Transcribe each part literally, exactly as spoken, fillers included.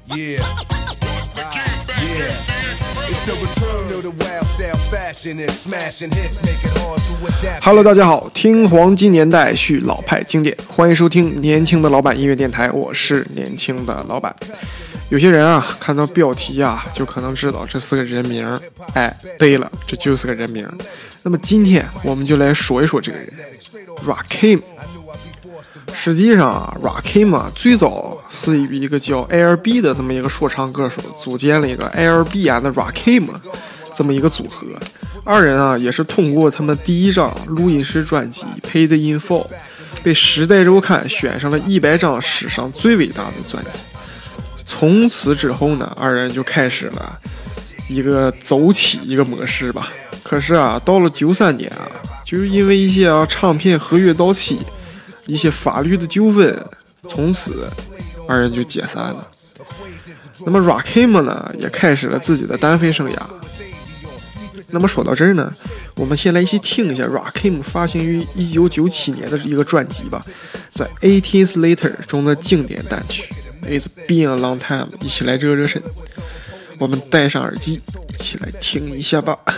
Yeah. Yeah. It's the return of the wild style fashion and smashing hits make it hard to adapt. Hello， 大家好，听黄金年代续老派经典，欢迎收听年轻的老板音乐电台，我是年轻的老板。有些人啊，看到标题啊，就可能知道这是个人名。哎，对了，这就是个人名。那么今天我们就来说一说这个人 ，Rakim。实际上啊 ，Rakim 啊，最早是与一个叫 L B 的这么一个说唱歌手组建了一个 L B and Rakim 这么一个组合。二人啊，也是通过他们第一张录音室专辑《Paid in Full》，被《时代周刊》选上了一百张史上最伟大的专辑。从此之后呢，二人就开始了一个走起一个模式吧。可是啊，到了九三年啊，就是因为一些啊唱片合约到期，一些法律的纠纷，从此二人就解散了。那么 Rakim 呢，也开始了自己的单飞生涯。那么说到这儿呢，我们先来一起听一下 Rakim 发行于一九九七年的一个专辑吧，在 Eighteen Later 中的经典单曲 It's Been a Long Time， 一起来热热身。我们戴上耳机，一起来听一下吧。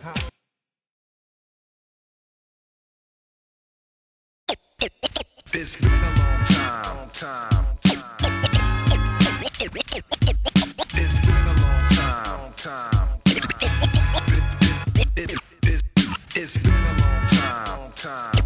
It's been a long time, time, time. It's been a long time, time. It, it, it, it's been a long time, time.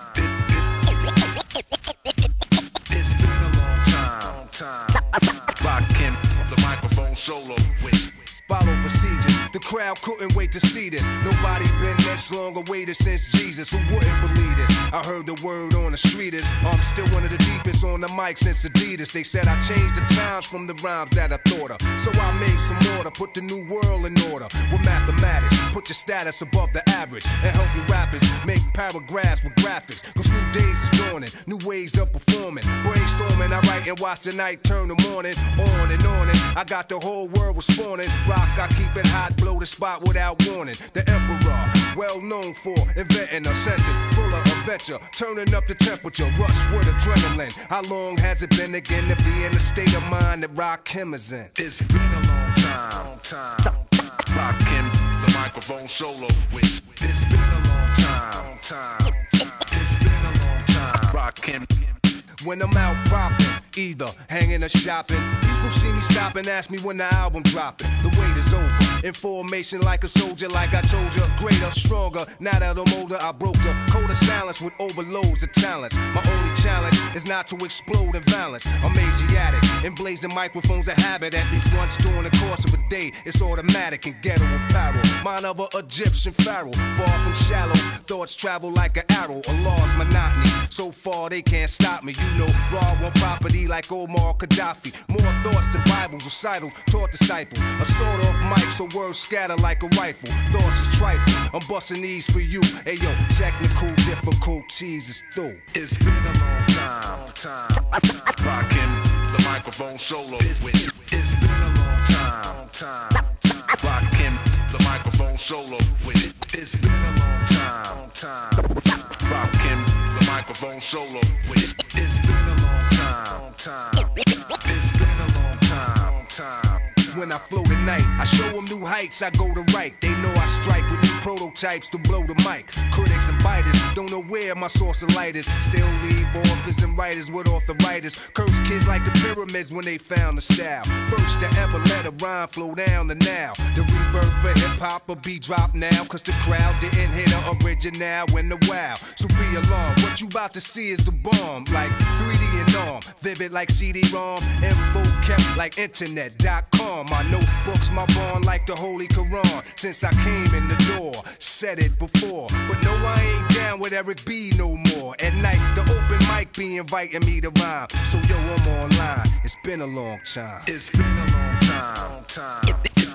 It's been a long time, time. Rockin' the microphone solo with follow procedures. The crowd couldn't wait to see this. Nobody been this long awaited since Jesus. Who wouldn't believe this? I heard the word on the street is I'm still one of the deepest on the mic since Adidas. They said I changed the times from the rhymes that I thought of. So I made some order, put the new world in order. With mathematics, put your status above the average. And help you rappers make paragraphs with graphics. Cause new days is dawning, new ways of performing. Brainstorming, I write and watch the night turn the morning. On and on and I got the whole world responding. Rock, I keep it hot, blow the spot without warning. The emperor, well known for inventing a sentence full of adventure, turning up the temperature, rush with adrenaline. How long has it been again to be in the state of mind that Rakim is in? It's been a long time, time. Rakim, the microphone solo with. It's been a long time, time. It's been a long time. Rakim. When I'm out popping, either hanging or shopping, people see me stop and ask me when the album dropping. The wait is over. In formation like a soldier, like I told you, greater, stronger. Now that I'm older, I broke the code of silence with overloads of talents. My only challenge is not to explode in violence. I'm Asiatic, and blazing microphones a habit. At least once during the course of a day, it's automatic and ghetto apparel. Mine of an Egyptian pharaoh, far from shallow. Thoughts travel like an arrow, a law's monotony. So far they can't stop me. You know, raw one property like Omar Gaddafi. More thoughts than Bible recitals, taught disciples. A sort of mic, so words scatter like a rifle. Thoughts is trifle, I'm busting these for you. Hey yo, technical difficulties is through. It's been a long time, time. Rockin' the microphone solo with. It's been a long time, time. Rockin' the microphone solo with. It's been a long time, time. Rockin' the microphone solo with. It's been a long time, time. It's been a long time, time. When I flow tonight, I show them new heights, I go to right. They know I strike with new prototypes to blow the mic. Critics and biters don't know where my source of light is. Still leave authors and writers with arthritis. Curse kids like the pyramids when they found the style. First to ever let a rhyme flow down to now. The rebirth for hip-hop will be dropped now. Cause the crowd didn't hit the original when the wow. So be alarmed, what you about to see is the bomb. Like three D and arm, vivid like C D ROM. Info kept like internet dot com. My notebooks, my bond like the Holy Quran. Since I came in the door, said it before. But no, I ain't down with Eric B no more. At night, the open mic be inviting me to rhyme. So yo, I'm online. It's been a long time. It's been a long time. time. It's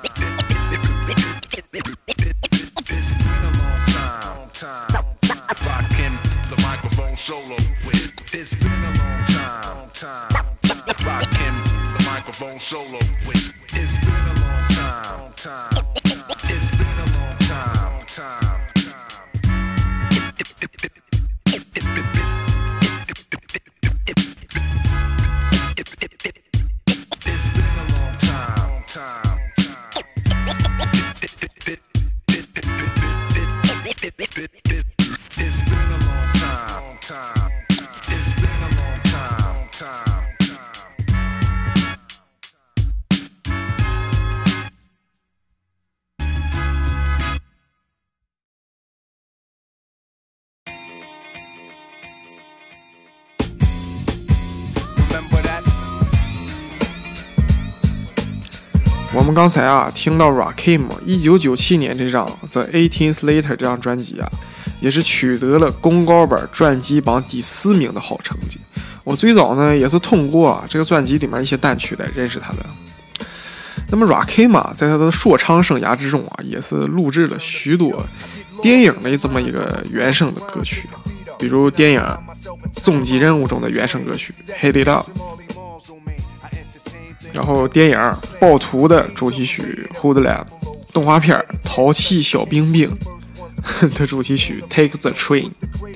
been a long time. time. Rockin' the microphone solo with. It's been a long time. time. Rockin' the microphone solo with. It's been a long time, time. It's been a long time, time. It's been a long 我们刚才啊听到 Rakim 一九九七年这张 The eighteenth Later 这张专辑啊，也是取得了公告本专辑榜第四名的好成绩。我最早呢也是通过啊这个专辑里面一些单曲来认识他的。那么 Rakim 啊在他的说唱生涯之中啊，也是录制了许多电影的这么一个原声的歌曲啊，比如电影《终极任务》中的原声歌曲 Hit It Up， 然后电影《暴徒》的主题曲 Hoodlum， 动画片《淘气小兵兵》的主题曲 Take the Train。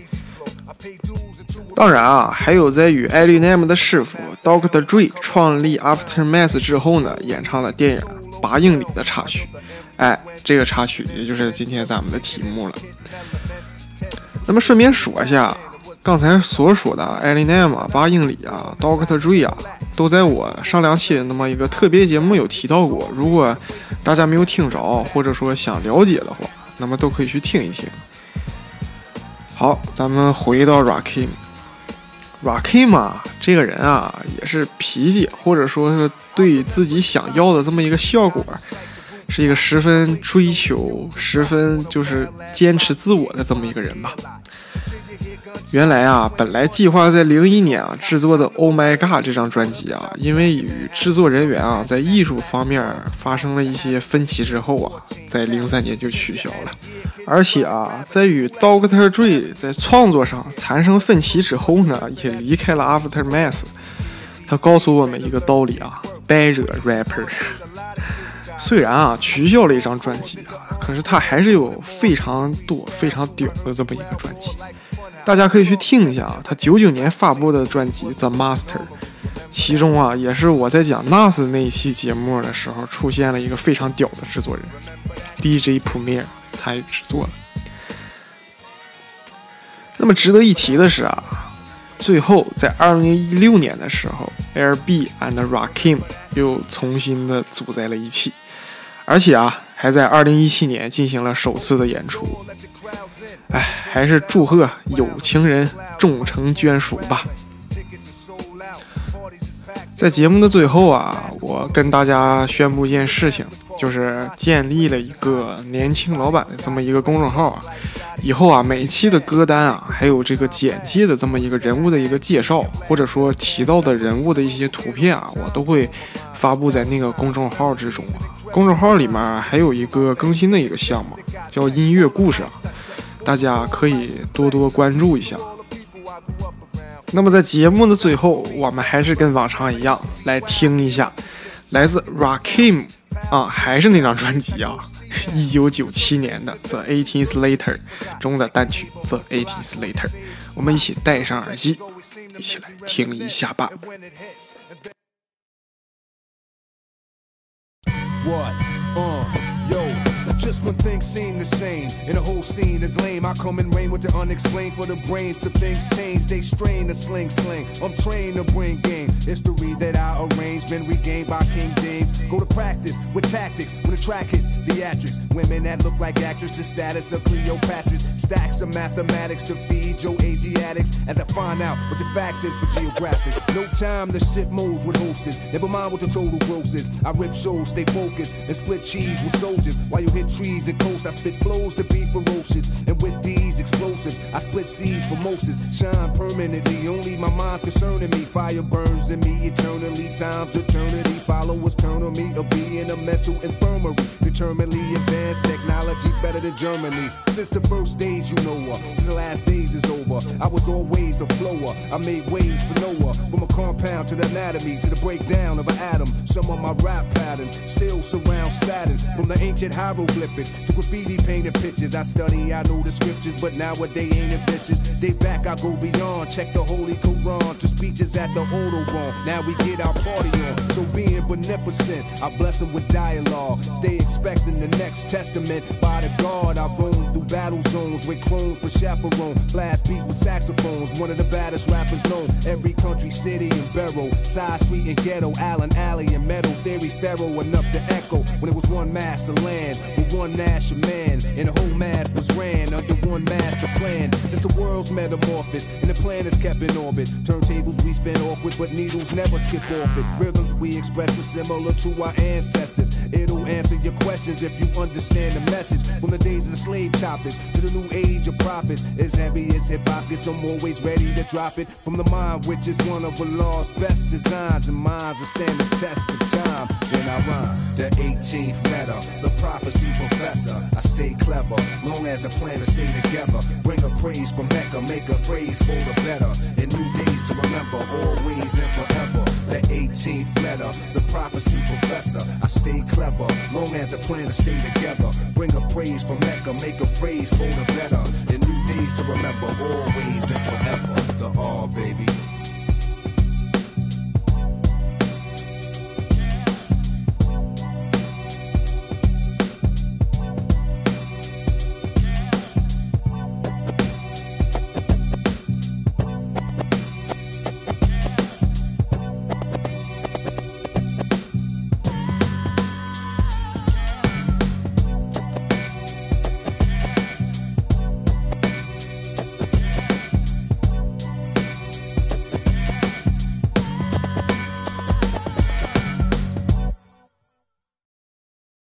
当然啊，还有在与 Eminem 的师傅 doctor Dre 创立 Aftermath 之后呢，演唱了电影《八英里》的插曲。哎，这个插曲也就是今天咱们的题目了。那么顺便说一下，刚才所说的 Eminem 啊、八英里啊、doctor Dre 啊，都在我上两期那么一个特别节目有提到过。如果大家没有听着，或者说想了解的话，那么都可以去听一听。好，咱们回到 Rakim。Rakim 啊，这个人啊，也是脾气，或者说是对自己想要的这么一个效果，是一个十分追求、十分就是坚持自我的这么一个人吧。原来啊，本来计划在零一年啊制作的 Oh My God 这张专辑啊，因为与制作人员啊在艺术方面发生了一些分歧之后啊，在零三年就取消了。而且啊，在与 doctor Dre 在创作上产生分歧之后呢，也离开了 Aftermath。他告诉我们一个道理啊，别惹 rapper。虽然啊取消了一张专辑啊，可是他还是有非常多非常屌的这么一个专辑。大家可以去听一下啊，他九九年发布的专辑 The Master， 其中啊也是我在讲 N A S 那一期节目的时候出现了一个非常屌的制作人 D J Premier 参与制作了。那么值得一提的是啊，最后在二零一六年的时候 L B and Rakim 又重新的组在了一起，而且啊还在二零一七年进行了首次的演出。哎，还是祝贺有情人终成眷属吧。在节目的最后啊，我跟大家宣布一件事情，就是建立了一个年轻老板的这么一个公众号啊。以后啊，每期的歌单啊，还有这个简介的这么一个人物的一个介绍，或者说提到的人物的一些图片啊，我都会发布在那个公众号之中啊。公众号里面还有一个更新的一个项目，叫音乐故事啊，大家可以多多关注一下。那么在节目的最后，我们还是跟往常一样来听一下来自 Rakim 啊，还是那张专辑啊，一九九七年的 The eighteenth Later 中的单曲 The eighteenth Later， 我们一起戴上耳机，一起来听一下吧。 What? Uh, yo, just when things seem the same and the whole scene is lame, I come and reign with the unexplained for the brains. So things change, they strain the sling sling. I'm trained to bring game. History that I arrange been regained by King James. Go to practice with tactics when the track hits theatrics. Women that look like actors, the status of Cleopatra's. Stacks of mathematics to feed your A G addicts as I find out what the facts is for geographics. No time to shit moves with hostess. Never mind what the total gross is. I rip shows, stay focused, and split cheese with soldiers. While you hit trees and coasts, I spit flows to be ferocious. And with these explosives, I split seeds for Moses. Shine permanently, only my mind's concerning me. Fire burns in me eternally, time's eternity. Followers turn on me, or be in a mental infirmary. Determinedly advanced technology better than Germany. Since the first days you know her, to the last days is over. I was always a flower, I made waves for Noah. From a compound to the anatomy, to the breakdown of an atom. Some of my rap patterns still surround Saturn. From the ancient hieroglyphics to graffiti painted pictures. I study, I know the scriptures, but nowadays ain't ambitious. Day back I go beyond, check the Holy Quran to speeches at the Autobahn. Now we get our party on, so being beneficent, I bless them with dialogue. Stay expecting the next testament by the God I roam through through battle zones with chrome for chaperone. Blast beat with saxophones, one of the baddest rappers known. Every country, city, and borough, side street and ghetto, Allen Alley and Metal Theory's thorough enough to echo. When it was one master land with one national man, and the whole mass was ran under one master plan. Since the world's metamorphosis and the planets kept in orbit, turntables we spin awkward, but needles never skip off it. Rhythms we express are similar to our ancestors. It'll answer your questions if you understand the message. From the days of the slave choppers to the new age of prophets, as heavy as hip hop gets, I'm always ready to drop it. From the mind, which is one of Allah's best designs, and minds that stand the test of time. Then I rhyme the eighteenth letter, the prophecy professor. I stay clever, long as the planets stay together. Bring a praise from Mecca, make a phrase for the better. In new days to remember, always and forever. The eighteenth letter, the prophecy professor. I stay clever, long as the planets stay together. Bring a praise from Mecca, make a phrase for the better. In new days to remember, always and forever. The R